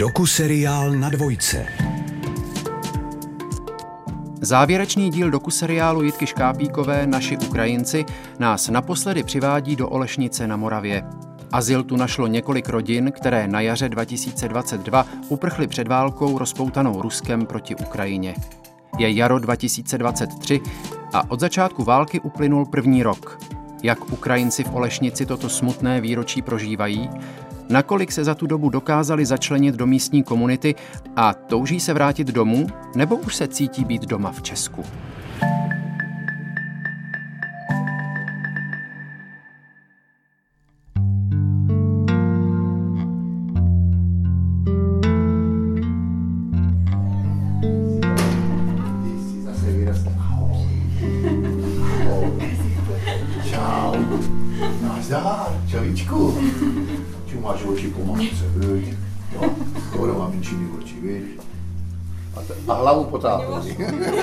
Dokuseriál na dvojce. Závěrečný díl dokuseriálu Jitky Škápíkové Naši Ukrajinci nás naposledy přivádí do Olešnice na Moravě. Azyl tu našlo několik rodin, které na jaře 2022 uprchly před válkou rozpoutanou Ruskem proti Ukrajině. Je jaro 2023 a od začátku války uplynul první rok. Jak Ukrajinci v Olešnici toto smutné výročí prožívají? Nakolik se za tu dobu dokázali začlenit do místní komunity a touží se vrátit domů, nebo už se cítí být doma v Česku? Čau. Nazdar, čavíčku. Čemu máš oči po matce, viď? Jo, skoro mám menšiny oči, víš? A hlavu potápí.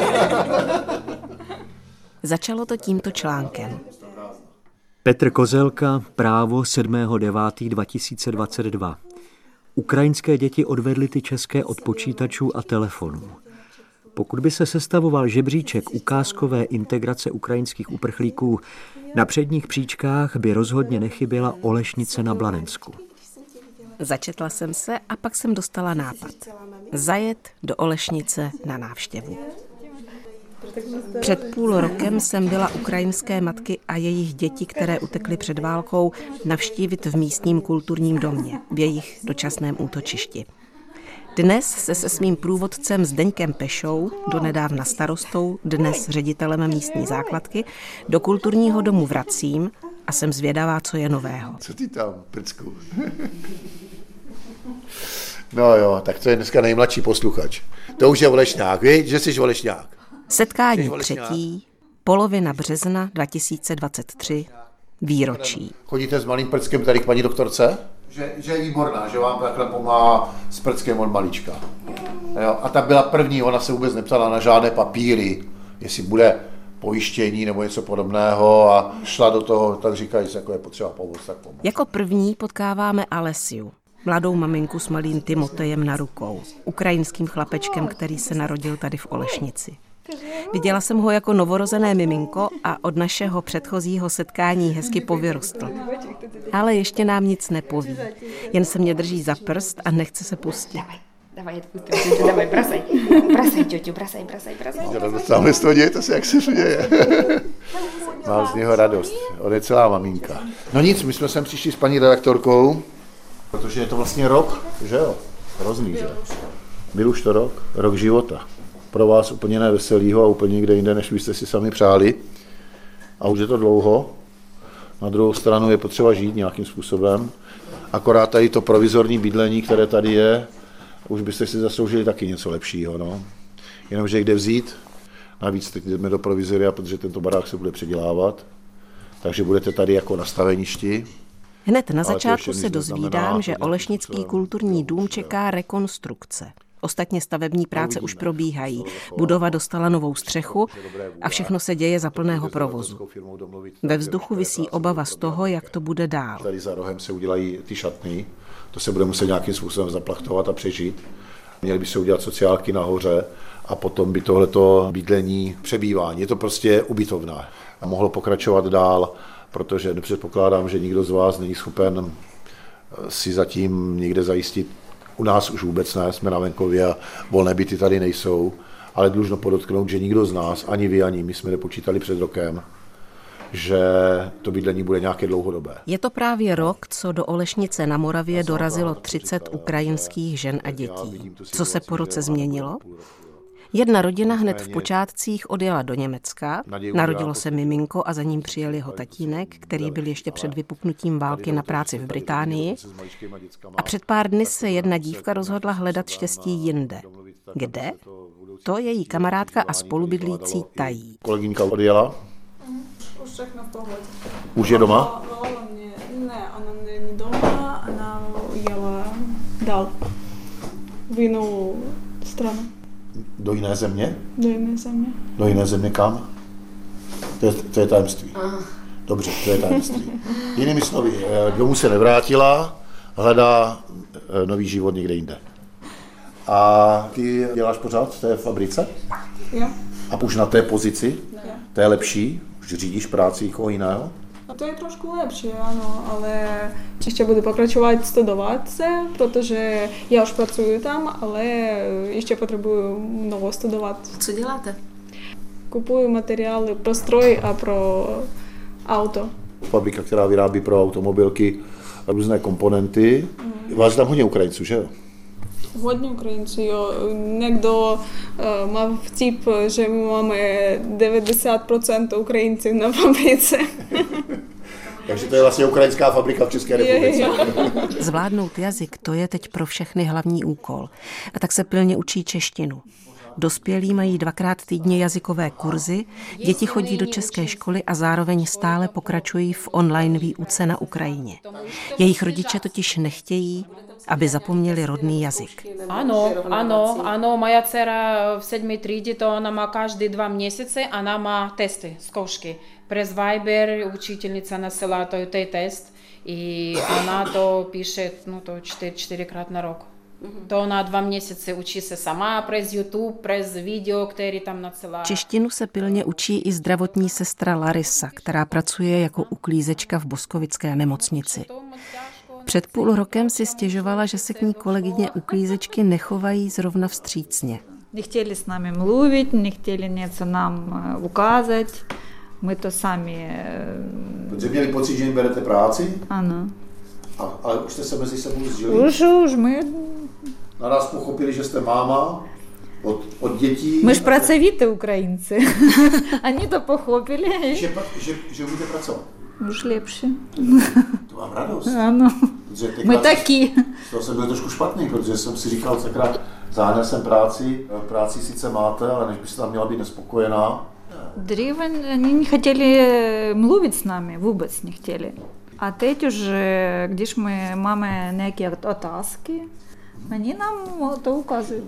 Začalo to tímto článkem. Petr Kozelka, Právo 7.9.2022. Ukrajinské děti odvedly ty české od počítačů a telefonů. Pokud by se sestavoval žebříček ukázkové integrace ukrajinských uprchlíků, na předních příčkách by rozhodně nechyběla Olešnice na Blanensku. Začetla jsem se a pak jsem dostala nápad. Zajet do Olešnice na návštěvu. Před půl rokem jsem byla ukrajinské matky a jejich děti, které utekly před válkou, navštívit v místním kulturním domě, v jejich dočasném útočišti. Dnes se svým průvodcem Zdeňkem Pešou, donedávna starostou, dnes ředitelem místní základky, do kulturního domu vracím a jsem zvědavá, co je nového. Co ty tam, prcku? No jo, tak to je dneska nejmladší posluchač. To už je Olešňák, víš, že jsi Olešňák. Setkání třetí, polovina března 2023, výročí. Chodíte s malým prckem tady k paní doktorce? Že je výborná, že vám takhle pomáhá s prckem od malička. Jo, a ta byla první, ona se vůbec neptala na žádné papíry, jestli bude pojištění nebo něco podobného a šla do toho, tak říkají, jako je potřeba pomoct, tak pomoct. Jako první potkáváme Alesiu, mladou maminku s malým Timotejem na rukou, ukrajinským chlapečkem, který se narodil tady v Olešnici. Viděla jsem ho jako novorozené miminko a od našeho předchozího setkání hezky povyrostl. Ale ještě nám nic nepoví. Jen se mě drží za prst a nechce se pustit. Давай, бросай, тетю, бросай. Sáhle z toho děje, to se jak se děje. Mám z něho radost, on je celá maminka. No nic, my jsme sem přišli s paní redaktorkou, protože je to vlastně rok, že jo, hrozný, že? Byl už to rok života. Pro vás úplně neveselýho a úplně někde jinde, než vy jste si sami přáli. A už je to dlouho. Na druhou stranu je potřeba žít nějakým způsobem. Akorát tady to provizorní bydlení, které tady je, už byste si zasloužili taky něco lepšího. No. Jenomže kde vzít? Navíc teď jdeme do provizoria, protože tento barák se bude předělávat. Takže budete tady jako na staveništi. Hned na začátku se dozvídám, že Olešnický kulturní dům čeká rekonstrukce. Ostatně stavební práce už probíhají. Budova dostala novou střechu a všechno se děje za plného provozu. Ve vzduchu visí obava z toho, jak to bude dál. Tady za rohem se udělají ty šatny, to se bude muset nějakým způsobem zaplachtovat a přežít. Měly by se udělat sociálky nahoře a potom by tohleto bydlení, přebývání, je to prostě ubytovna. A mohlo pokračovat dál, protože nepředpokládám, že nikdo z vás není schopen si zatím někde zajistit. U nás už vůbec ne, jsme na venkově a volné byty tady nejsou, ale dlužno podotknout, že nikdo z nás, ani vy, ani my jsme nepočítali před rokem, že to bydlení bude nějaké dlouhodobé. Je to právě rok, co do Olešnice na Moravě dorazilo 30 ukrajinských žen a dětí. Co se po roce změnilo? Jedna rodina hned v počátcích odjela do Německa, narodilo se miminko a za ním přijel jeho tatínek, který byl ještě před vypuknutím války na práci v Británii. A před pár dny se jedna dívka rozhodla hledat štěstí jinde. Kde? To její kamarádka a spolubydlící tají. Kolegyňka odjela? Už všechno v pohodě. Už je doma? Ne, ona není doma, ona jela dál. V jinou stranu. Do jiné země? Do jiné země. Do jiné země kam? To je tajemství. Dobře, to je tajemství. Jinými slovy, domů se nevrátila, hledá nový život někde jinde. A ty děláš pořád v té fabrice? Jo. A už na té pozici? Jo. To je lepší? Už řídíš práci někoho jiného? A to je trošku lepší, ano, ale ještě budu pokračovat studovat se, protože já už pracuji tam, ale ještě potřebuji mnoho studovat. Co děláte? Kupuju materiály pro stroj a pro auto. Fabrika, která vyrábí pro automobilky různé komponenty. Vás tam hodně Ukrajinců, že jo? Hodně Ukrajinců, jo. Někdo má vtip, že my máme 90% Ukrajinců na fabrice. Takže to je vlastně ukrajinská fabrika v České republice. Zvládnout jazyk, to je teď pro všechny hlavní úkol. A tak se pilně učí češtinu. Dospělí mají 2krát týdně jazykové kurzy, děti chodí do české školy a zároveň stále pokračují v online výuce na Ukrajině. Jejich rodiče totiž nechtějí, aby zapomněli rodný jazyk. Ano, moja dcera v 7. třídě, to ona má každý 2 měsíce, ona má testy, zkoušky. Přes Viber učitelnice nasila to test i ona to píše to 4krát na rok. To na 2 měsíce učí se sama přes YouTube, přes video, který tam nadsila. Češtinu se pilně učí i zdravotní sestra Larisa, která pracuje jako uklízečka v Boskovické nemocnici. Před půl rokem si stěžovala, že se k ní kolegyně uklízečky nechovají zrovna vstřícně. Nechtěli s námi mluvit, nechtěli něco nám ukázat. My to sami... Protože měli pocit, že jim berete práci? Ano. Ale už jste se mezi sebou sdělili? Už my... Naraz pochopili, že jste máma od dětí. My ж pracovití Ukrajinci. Oni to pochopili. Že budete pracovat? Už lepší. To mám radost. Ano. My taky. To jsem byl trošku špatný, protože jsem si říkal, takrát záněl jsem práci sice máte, ale než byste tam měla být nespokojená. Dříve oni nechtěli mluvit s námi, vůbec nechtěli. A teď už, když my máme nějaké otázky, oni nám to ukazují.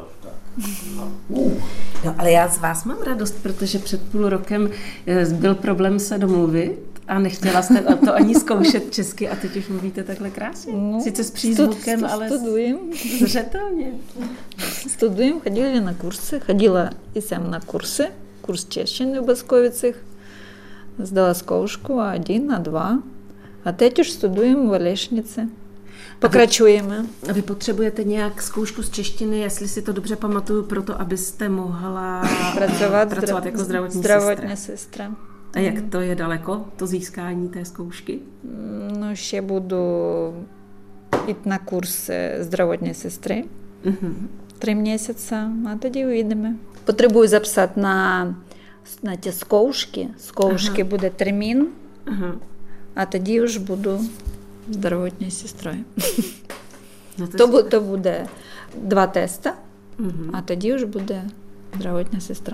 No, ale já z vás mám radost, protože před půl rokem byl problém se domluvit a nechtěla jste to ani zkoušet česky a teď už mluvíte takhle krásně. No, sice s přízvukem, ale zřetelně. Studujeme, chodili na kursy, chodila i jsem na kursy, kurs češtiny v Boskovicích, zdala zkoušku A1, A2 a teď už studujeme v Olešnici. Pokračujeme. A vy potřebujete nějak zkoušku z češtiny, jestli si to dobře pamatuju, proto abyste mohla pracovat jako zdravotní sestra. A jak to je daleko, to získání té zkoušky? No, ще budu jít na kurz zdravotní sestry. 3 měsíce a тоді uvidíme. Potřebuji zapsat na ty zkoušky. Zkoušky bude termín a тоді už budu zdravotní sestrou. No to bude 2 testa a тоді už bude zdravotní sestra.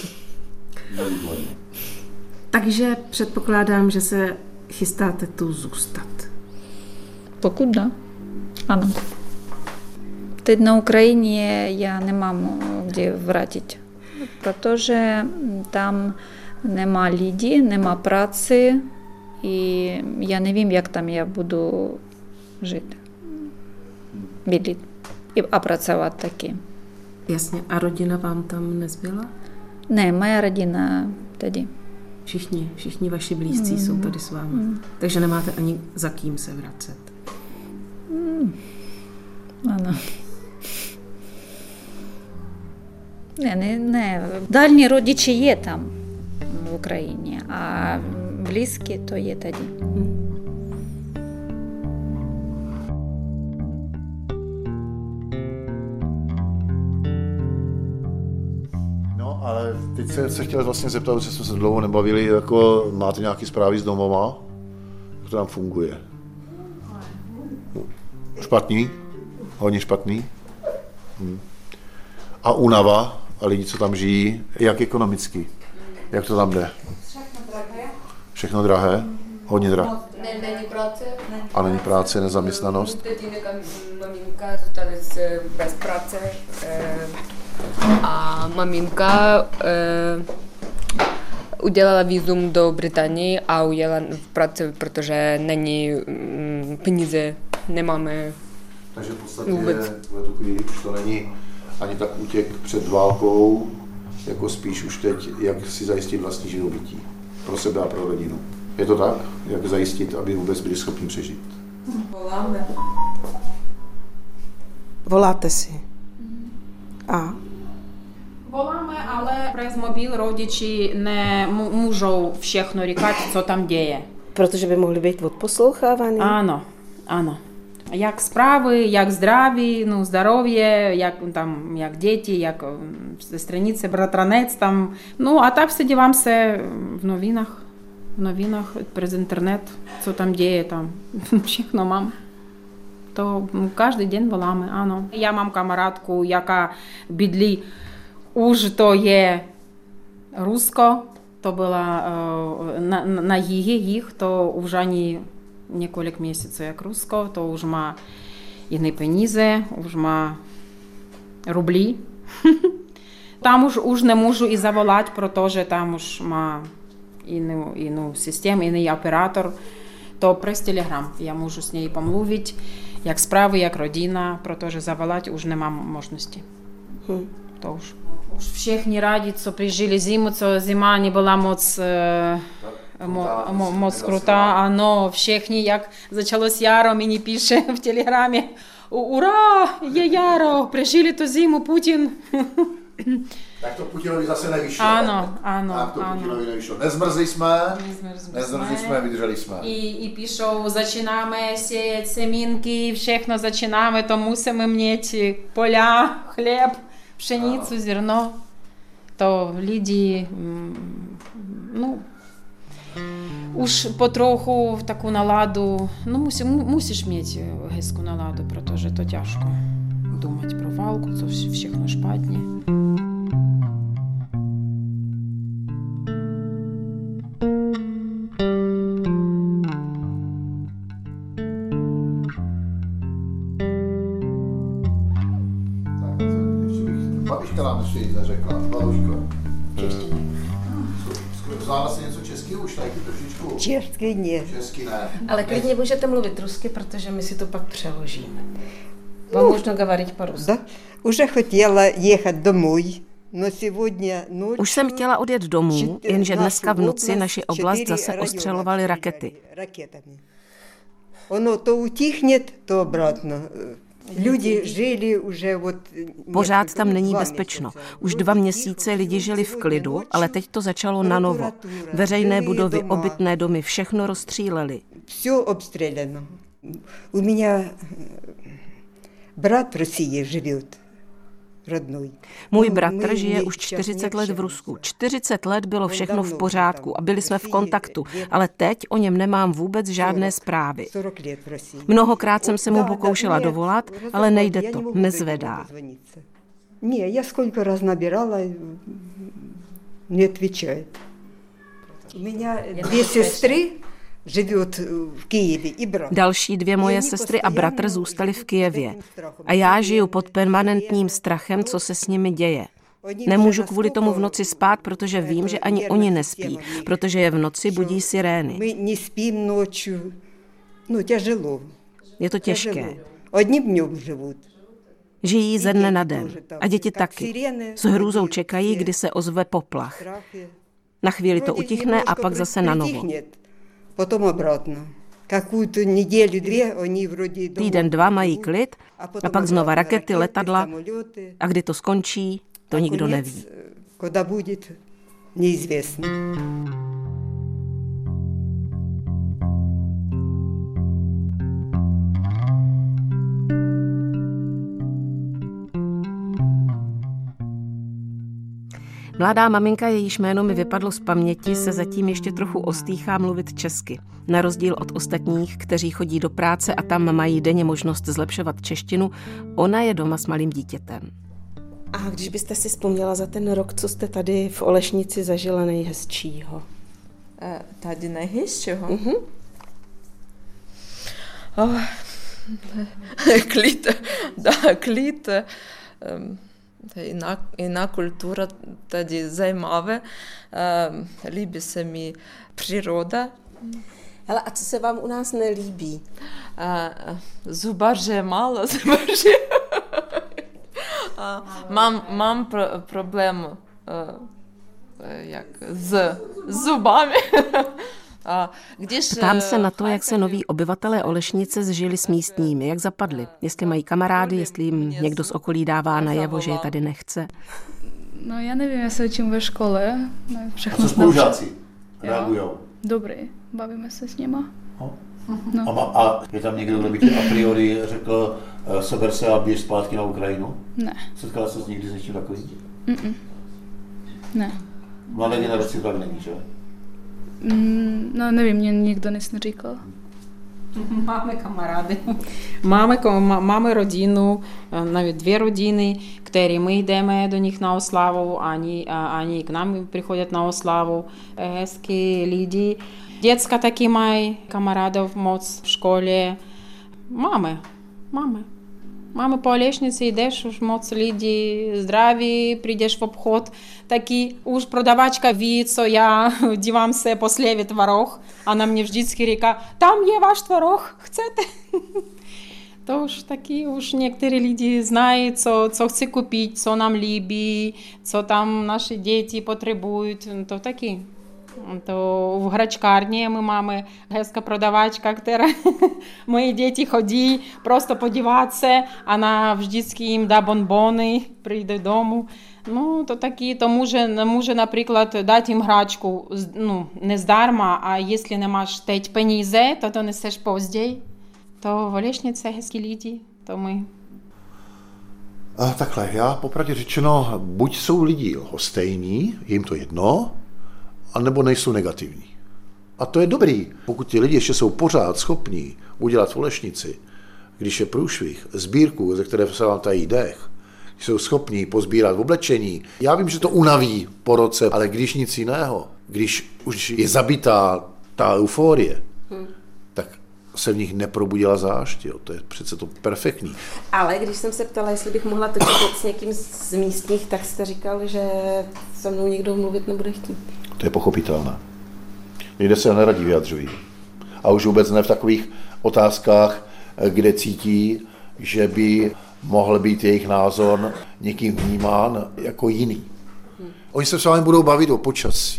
Takže předpokládám, že se chystáte tu zůstat. Pokud da. Ano. Teď na Ukrajině já nemám kde vrátit, protože tam nemá lidí, nemá práci i já nevím, jak tam já budu žít, bydlet a pracovat taky. Jasně. A rodina vám tam nezbyla? Ne, moja rodina tady. Všichni vaši blízcí jsou tady s vámi. Takže nemáte ani za kým se vracet. Ano. Ne. Dální rodiče je tam v Ukrajině a blízké to je tady. Ale teď se chtěl vlastně zeptat, protože jsme se dlouho nebavili, jako máte nějaké zprávy z domova? Jak to tam funguje? Špatný? Hodně špatný? A únava a lidi, co tam žijí, jak ekonomicky? Jak to tam jde? Všechno drahé? Hodně drahé? Není práce. A není práce, nezaměstnanost? Maminka zůstala bez práce. A maminka udělala vízum do Británie a ujela v práci, protože není peníze, nemáme Takže v podstatě v tu chvíli už to není ani tak útěk před válkou, jako spíš už teď, jak si zajistit vlastní živobytí pro sebe a pro rodinu. Je to tak? Jak zajistit, aby vůbec byli schopni přežít? Voláme. Voláte si. A? Voláme, ale přes mobil rodiči nemůžou všechno říkat, co tam děje. Protože by mohli být odposlouchávaný? Ano. Jak zprávy, jak zdraví, zdravě, jak děti, jak stranice, bratranec tam. A tak se dívám se v novinách přes internet, co tam děje, tam všechno mám. To každý den voláme, ano. Já mám kamarádku, jaká bydlí, už to je Rusko, to byla na jih, to už ani několik měsíců jak Rusko, to už má jiné peníze, už má rubly. Tam už nemůžu i zavolat, protože tam už má jiný systém, jiný operátor. To přes Telegram já můžu s něj pomluvit, jak zprávy, jak rodina, protože zavolat už nemám možnosti. To už všichni rádi, co přežili zimu, co zima nebyla moc krutá, ano, všichni, jak začалось jaro, mені пише в Телеграмі, ура, je jaro, přežili tu zimu, Putin. Tak to Putinovi zase nevyšlo. Ano. Tak to Putinovi nevyšlo. Nezmrzli jsme, vydrželi jsme. I píšou, začínáme sieť semínky, všechno začínáme, to musíme mít poля, chléb, pšenicu, zrno. To lidi, už potrochu таку наладу, мусиш мати гезку наладу, protože to тяжко думати про валку, це všechno špatně. Babiška nám ještě nic neřekla, babuško. Znála se něco českého už taky trošičku? Česky ne. Česky ne. Ale klidně můžete mluvit rusky, protože my si to pak přeložíme. Вам можно говорить по-русски. Да. Уже хотела ехать домой, но сегодня ночью... Už jsem chtěla odjet domů, jenže dneska v noci naši oblast zase ostřelovaly rakety. Ono to utihnet, to obratno. Lidi žili už Pořád tam není bezpečno. Už 2 měsíce lidi žili v klidu, ale teď to začalo nanovo. Veřejné budovy, obytné domy, všechno rozstříleli. Все обстреляно. У меня брат в России живет, родной. Můj bratr žije už 40 let v Rusku. 40 let bylo všechno v pořádku a byli jsme v kontaktu, ale teď o něm nemám vůbec žádné zprávy. Mnohokrát jsem se mu pokoušela dovolat, ale nejde to, nezvedá. Ne, já сколько раз набирала, не отвечает. У меня 2 сестры живет v Kyjevě i bratr. Další 2 moje sestry a bratr zůstali v Kyjevě. A já žiju pod permanentním strachem, co se s nimi děje. Nemůžu kvůli tomu v noci spát, protože vím, že ani oni nespí, protože je v noci budí sirény. My nespím noču. Těželo. Je to těžké. Одним днем живут. Žijí ze dne na den. A děti taky. S hrůzou čekají, kdy se ozve poplach. Na chvíli to utichne a pak zase na novo. Potom obratno. Какую-то неделю, 2 oni вроде 1, 2 mají klid a pak znova rakety, letadla. A kdy to skončí, to nikdo neví. Когда будет, неизвестно. Mladá maminka, jejíž jméno mi vypadlo z paměti, se zatím ještě trochu ostýchá mluvit česky. Na rozdíl od ostatních, kteří chodí do práce a tam mají denně možnost zlepšovat češtinu, ona je doma s malým dítětem. A když byste si vzpomněla za ten rok, co jste tady v Olešnici zažila nejhezčího? Tady nejhezčího? Klid, klid. Jiná kultura tady zajímavá, líbí se mi příroda. Hele, a co se vám u nás nelíbí? Zubaře málo, zubaře. Mám problém jak s zubami. Ptám se na to, jak se noví obyvatelé Olešnice zžili s místními, jak zapadli, jestli mají kamarády, jestli jim někdo z okolí dává najevo, že je tady nechce. No já nevím, já se učím ve škole. A co spolužáci reagujou? Dobrý, bavíme se s nima. No. A je tam někdo, kdo by ti a priori řekl, seber se a běž zpátky na Ukrajinu? Ne. Setkala se někdy s něčím takovým? Ne. Mladé generaci to tak není, že? No nevím, mě nikdo nic neříkal. Máme kamarády, máme rodinu, навіть 2 rodiny, které my jdeme do nich na oslavu, oni k nám приходят на oslavu. Hezký lidi. Děcka taky mají kamarádov moc v škole. Máme po Olešnici, jdeš, už moc lidí zdraví, přijdeš v obchod, taky už prodavačka ví, co já dívám se po slevě tворог, она mě vždycky říká, tam je váš tворог, chcete? To už taky, už některé lidi znají, co chci koupit, co nám líbí, co tam naše děti potřebují, to taky. To v hračkárně my máme hezká prodavačka, která moje děti chodí просто podívat se, она vždycky jim dá bonbony, přijde domů. No to taky, to může například dát jim hračku, no, ne zdarma, a jestli nemáš teď peníze, to neseš později. To v Olešnici hezký lidi, to my. Takhle, já popravdě řečeno, buď jsou lidi lhostejní, je jim to jedno, anebo nejsou negativní. A to je dobrý. Pokud ti lidi ještě jsou pořád schopní udělat v Olešnici, když je průšvih, sbírku, ze které se vám tají dech, jsou schopní pozbírat oblečení. Já vím, že to unaví po roce, ale když nic jiného, když už je zabitá ta euforie, tak se v nich neprobudila zášť. Jo. To je přece to perfektní. Ale když jsem se ptala, jestli bych mohla točit s někým z místních, tak jste říkal, že se mnou někdo mluvit nebude chtít. To je pochopitelné. Lidé se neradí vyjadřují. A už vůbec ne v takových otázkách, kde cítí, že by mohl být jejich názor někým vnímán jako jiný. Oni se s vámi budou bavit o počasí.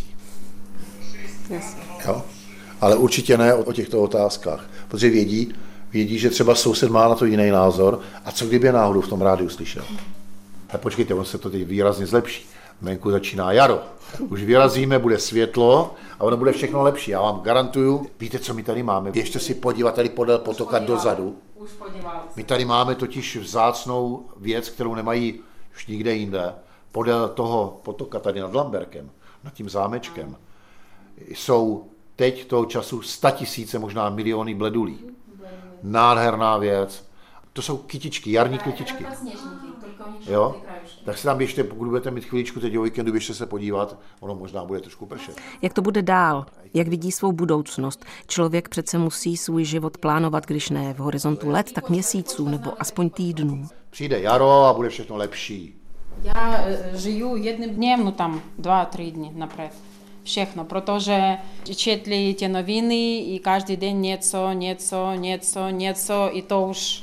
Jo? Ale určitě ne o těchto otázkách, protože vědí, že třeba soused má na to jiný názor a co kdyby je náhodou v tom rádiu slyšel. A počkejte, on se to teď výrazně zlepší. Venku začíná jaro. Už vyrazíme, bude světlo a ono bude všechno lepší. Já vám garantuju, víte, co my tady máme? Běžte si podívat tady podél potoka dozadu. My tady máme totiž vzácnou věc, kterou nemají už nikde jinde. Podél toho potoka tady nad Lamberkem, nad tím zámečkem, jsou teď toho času 100 000, možná miliony bledulí. Nádherná věc. To jsou kytičky, jarní kytičky. Jo? Tak se tam běžte, pokud budete mít chviličku teď o víkendu, běžte se podívat, ono možná bude trošku pršet. Jak to bude dál? Jak vidí svou budoucnost? Člověk přece musí svůj život plánovat, když ne v horizontu let, tak měsíců nebo aspoň týdnů. Přijde jaro a bude všechno lepší. Já žiju jedním dnem, no tam 2-3 dny napřed. Všechno, protože četli ty noviny i každý den něco i to už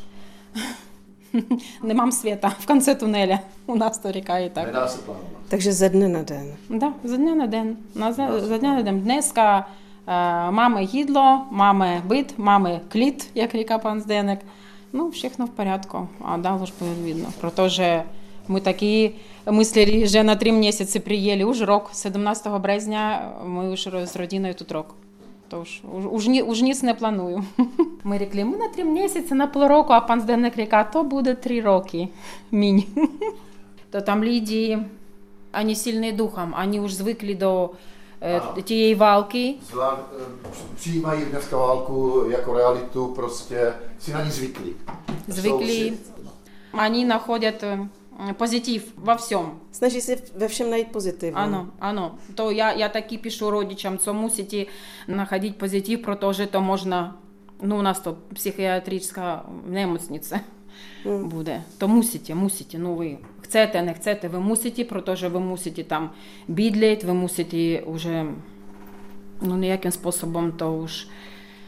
nemám světa v konci tunele. U nás to říkají tak. Nedá se plánovat. Takže ze dne na den. Да, ze dne na den. Ze dne na den. Dneska máme jídlo, máme byt, máme klid, jak říká pan Zdeněk. No, všechno v pořádku. A dál už bude vidno, protože my taky mysleli, že na 3 měsíce přijeli už rok. 17 března my už s rodinou тут rok. То už nic neplánuju. Ми řekli, ми на 3 місяці, на півроку, а пан Зdeněk říká, to bude 3 roky, míň. To tam lidi, oni silní duchem, oni už zvykli do té války. Přijímají dneska válku jako realitu, prostě si na ní zvykli. Oni nachodят pozitiv во всем. Snaží se ve všem najít pozitiv. Ano. To я таки пишу родичам, что musíte находить позитив, protože to možná, ну у нас то психіатрична немocnice буде. То musíte, ну ви chcete, не chcete, ви musíte, protože ви musíte tam bydlet, ви musíte уже, ну ніяким способом to už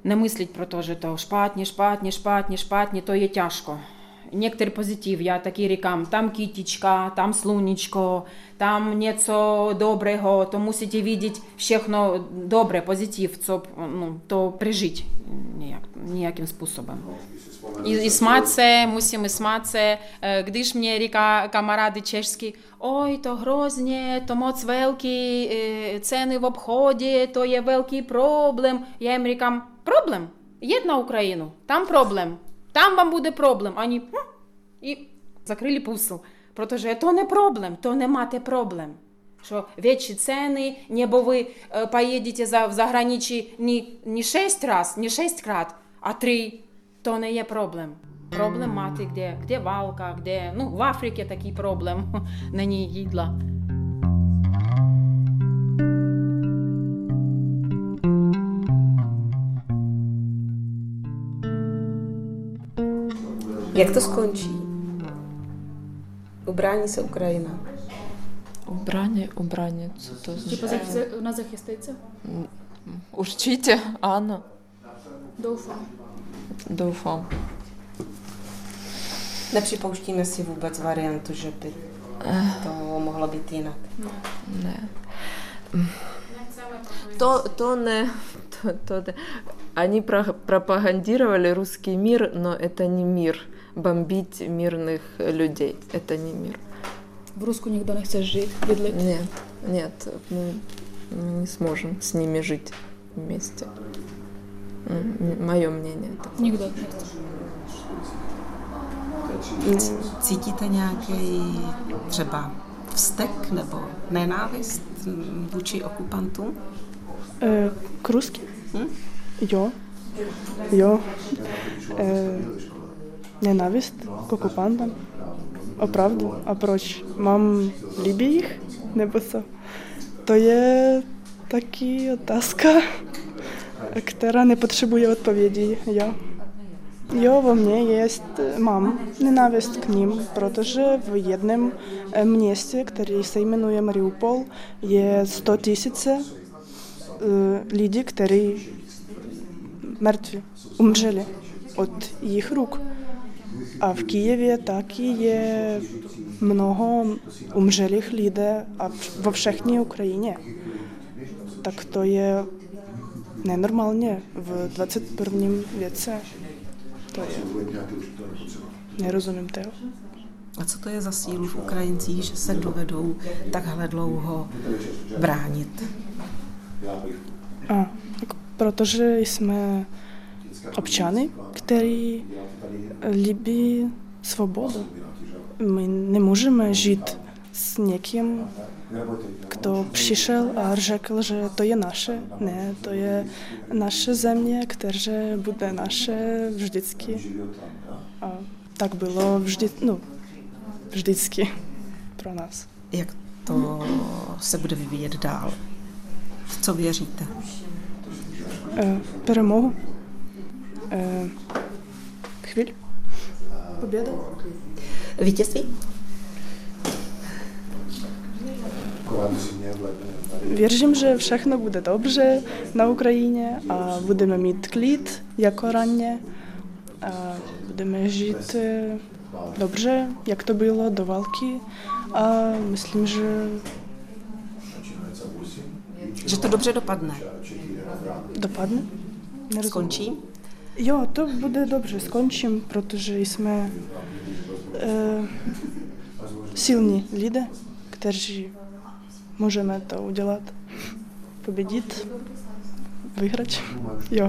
не мислить про те, що то шпатні, то є тяжко. Некоторий позитив, я такі рікам, там кітічка, там слунечко, там něco доброго, то мусите видеть všechno добре, позитив, то прижити ніяким способом. І сматься, мусимо сматься, když mě říká kamarády češsky, oj, to hrozně, to moc velký ceny v obchodě, to je velký problém. Já jim říkám, problém? Jed na Ukrajinu, tam problém. Там вам буде проблем. Они і закрили пусл. Protože to не проблем, to nemáte problém. Що větší ceny, nebo vy поїдете в заграничí не 6krát, а 3. To не є проблém. Problém máte, kde válka, kde, v Africe taký problém, není jídla. Jak to skončí? Ubrání se Ukrajina. Ubrání, co to Типа вона захиститься? Určitě, ano. Doufám. Nepřipouštíme si vůbec variantu, že by to mohlo být jinak. Ne. To не... Они пропагандировали русский мир, но это не мир. Бомбить мирных людей, это не мир. В Руску никто не хочет жить, бедлить? Нет, мы не сможем с ними жить вместе. Мое мнение. Никто не хочет. Cítíte nějaký třeba vztek nebo nenávist vůči okupantům? K ruským? Jo. Ненависть к оккупантам. Оправду. А проч? Мам любí їх? Nebo co? To je taky otázka, která nepotřebuje odpovědi. Jo, во мне есть, mám ненависть к ним, protože v jednom městě, který se jmenuje Mariupol, je 100 000 lidí, kteří mrtví, umřeli od jejich ruk. A v Kyjevě taky je mnoho umřelých lidí a vo všechny Ukrajině. Tak to je nenormálně v 21. věce. To je. Nerozumím toho. A co to je za sílu v Ukrajincích, že se dovedou takhle dlouho bránit? Protože jsme občany, kteří líbí svobodu. My nemůžeme žít s někým, kdo přišel a řekl, že to je naše. Ne, to je naše země, která bude naše vždycky. A tak bylo vždycky pro nás. Jak to se bude vyvíjet dál? V co věříte? Перемогу. Chvíli. Победа. Vítězství? Věřím, že všechno bude dobře na Ukrajině a budeme mít klid jako raně a budeme žít dobře, jak to bylo do války a myslím, že to dobře dopadne. Dopadne? Skončí? Jo, to bude dobře, skončím, protože jsme silní lidé, kteří můžeme to udělat, pobedit, vyhrát. Jo.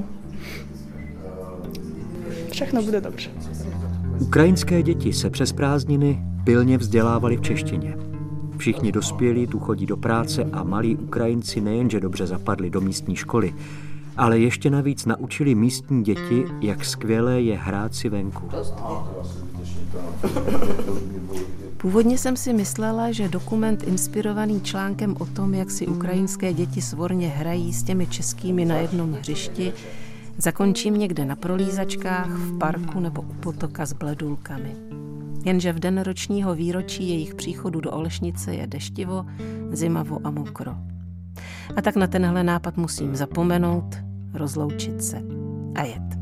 Všechno bude dobře. Ukrajinské děti se přes prázdniny pilně vzdělávali v češtině. Všichni dospělí tu chodí do práce a malí Ukrajinci nejenže dobře zapadli do místní školy, ale ještě navíc naučili místní děti, jak skvělé je hrát si venku. Původně jsem si myslela, že dokument inspirovaný článkem o tom, jak si ukrajinské děti svorně hrají s těmi českými na jednom hřišti, zakončím někde na prolízačkách, v parku nebo u potoka s bledulkami. Jenže v den ročního výročí jejich příchodu do Olešnice je deštivo, zimavo a mokro. A tak na tenhle nápad musím zapomenout, rozloučit se. a jet.